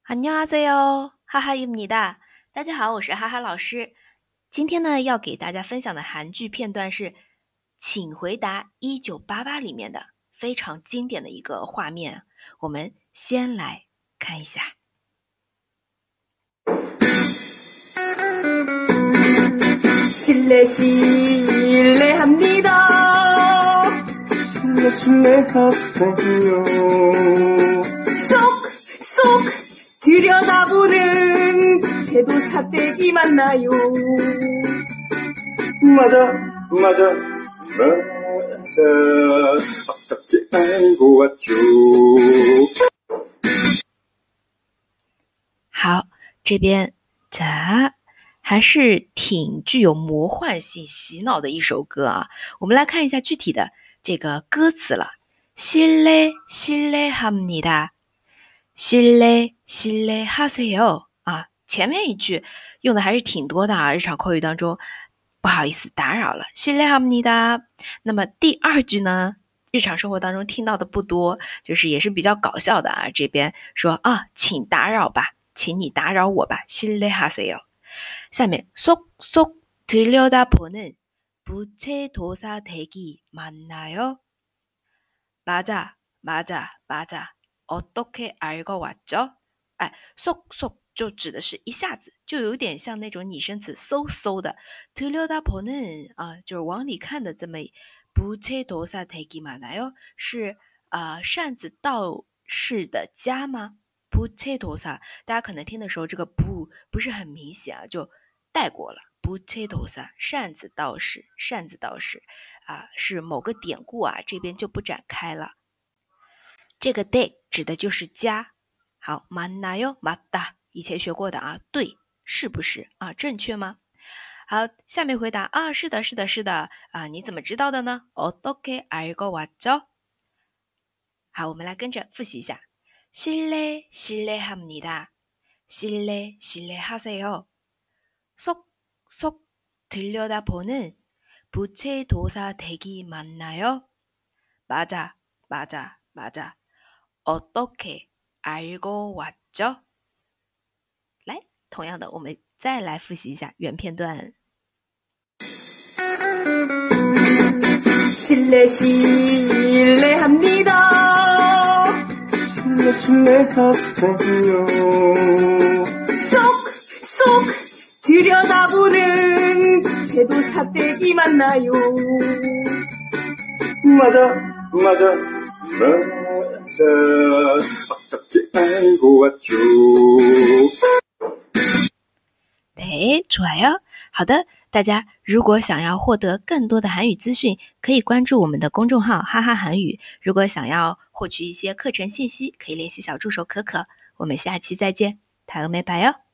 안녕하세요，哈哈입니다。大家好，我是哈哈老师。今天呢，要给大家分享的韩剧片段是《请回答1988》里面的非常经典的一个画面。我们先来看一下。 실례합니다. 실례하세요. 쏙쏙 들여다보는 제도 사대기 맞나요? 맞아. 어떻게 알고 왔죠? 好，这边还是挺具有魔幻性、洗脑的一首歌啊。我们来看一下具体的这个歌词了。실례합니다，실례하세요啊。前面一句用的还是挺多的啊，日常口语当中，不好意思打扰了。실례합니다。那么第二句呢，日常生活当中听到的不多，就是也是比较搞笑的啊。这边说啊，请打扰吧，请你打扰我吧。실례하세요。下面쏙쏙 들여다보는 부채도사 댁이 맞나요? 맞아. 어떻게 알고 왔죠? 쏙쏙就指的是一下子，就有点像那种拟声词嗖的。들여다보는就是往里看的这么。부채도사 댁이 맞나요? 是扇子道士的家吗？ 부채도사， 大家可能听的时候，这个不是很明显啊，就带过了。부채도사， 扇子道士是某个典故啊，这边就不展开了。这个 댁指的就是家。好，맞나요？ 맞다， 以前学过的啊，对，是不是啊？正确吗？好，下面回答啊，是的啊，你怎么知道的呢？어떻게 알고 왔죠？ 好，我们来跟着复习一下。실례합니다. 실례하세요. 쏙쏙 들여다보는 부채도사 댁이 맞나요? 맞아. 어떻게 알고 왔죠? 来，同样的，我们再来复习一下原片段。 실례합니다. 실례하세요. 쏙쏙 들여다보는 제도 사대기 맞나요? 맞아. 어떻게 알고 왔죠? 对，좋아요。好的，大家如果想要获得更多的韩语资讯，可以关注我们的公众号哈哈韩语。如果想要获取一些课程信息，可以联系小助手可可。我们下期再见，다음에 봐요。